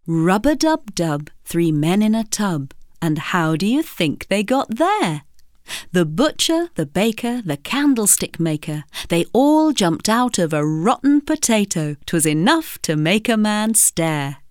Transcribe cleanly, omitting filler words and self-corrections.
Rub-a-dub-dub, 3 men in a tub. And how do you think they got there? The butcher, the baker, the candlestick maker, they all jumped out of a rotten potato. 'Twas enough to make a man stare.